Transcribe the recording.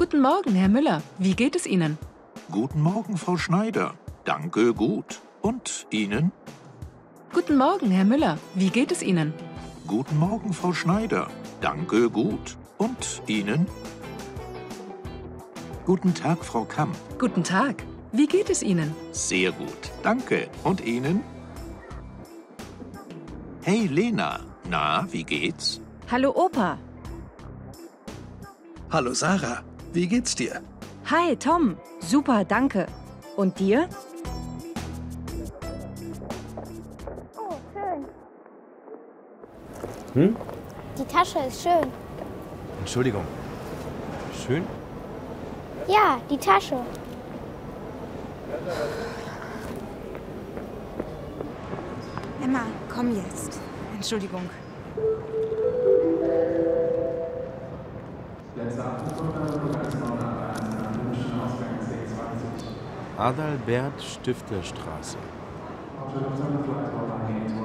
Guten Morgen, Herr Müller. Wie geht es Ihnen? Guten Morgen, Frau Schneider. Danke, gut. Und Ihnen? Guten Morgen, Herr Müller. Wie geht es Ihnen? Guten Morgen, Frau Schneider. Danke, gut. Und Ihnen? Guten Tag, Frau Kamm. Guten Tag. Wie geht es Ihnen? Sehr gut. Danke. Und Ihnen? Hey, Lena. Na, wie geht's? Hallo Opa. Hallo Sarah, wie geht's dir? Hi Tom. Super, danke. Und dir? Oh, schön. Die Tasche ist schön. Entschuldigung. Schön? Ja, die Tasche. Emma, komm jetzt. Entschuldigung. Adalbert Stifterstraße.